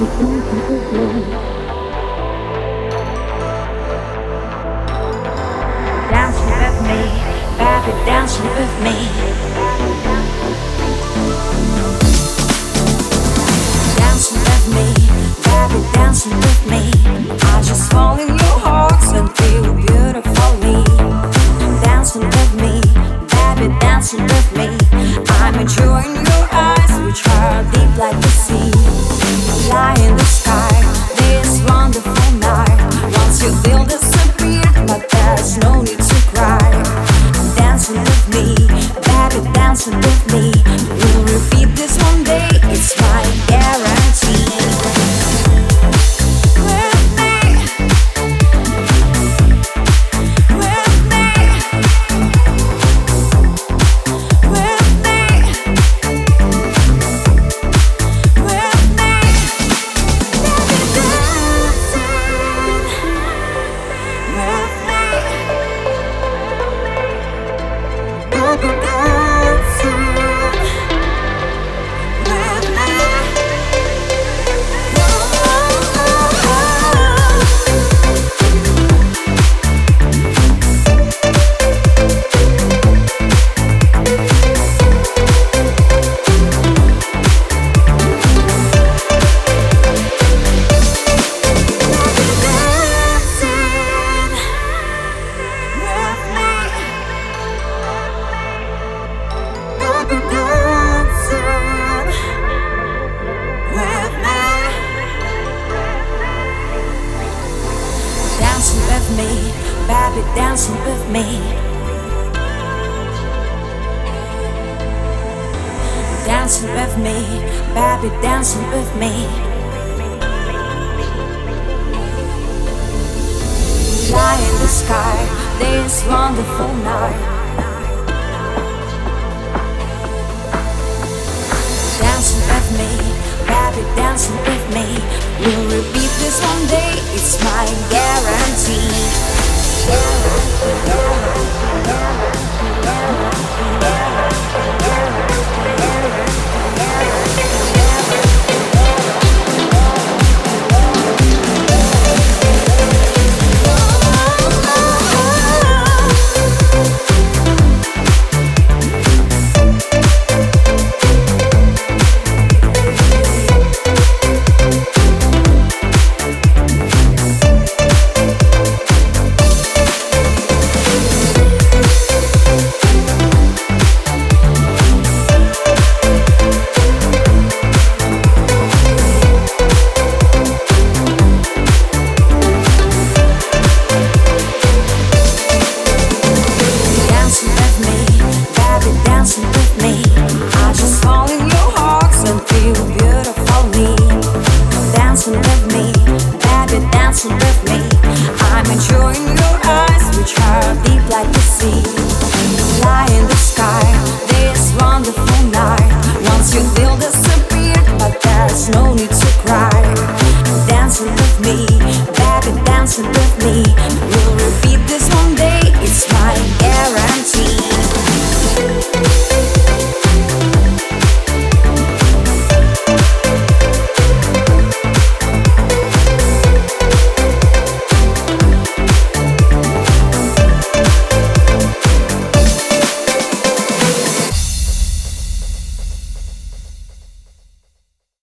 Dancing with me, baby, dancing with me. Dancing with me, baby, dancing with me. I just fall in your arms and feel beautifully. Dancing with me, baby, dancing with me. I'm enjoying your eyes, which are deep like the sea. Lie in the sky, this wonderful night. Once you feel disappear, but there's no need to cry. Dancing with me, baby, dancing with me. We'll repeat this one day, it's my guarantee. With me, with me, with me, with me. Baby, dancing with me. Dancing with me, baby, dancing with me. Dancing with me, baby, dancing with me. Fly in the sky, this wonderful night. Dancing with me, baby, dancing with me. We'll repeat this one day, it's my Dancing with me, I just fall in your arms and feel beautifully. Dancing with me, baby, dancing with me. I'm enjoying your eyes, which are deep like the sea. Fly in the sky, this wonderful night. Once you feel disappear, but there's no need to